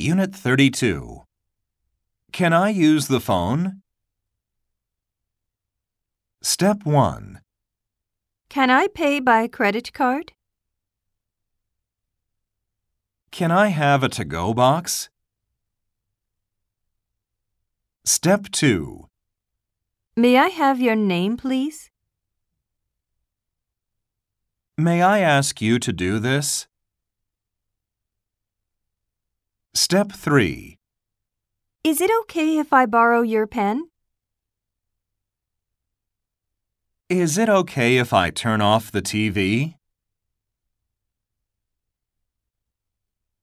Unit 32. Can I use the phone? Step 1. Can I pay by credit card? Can I have a to-go box? Step 2. May I have your name, please? May I ask you to do this? Step 3. Is it okay if I borrow your pen? Is it okay if I turn off the TV?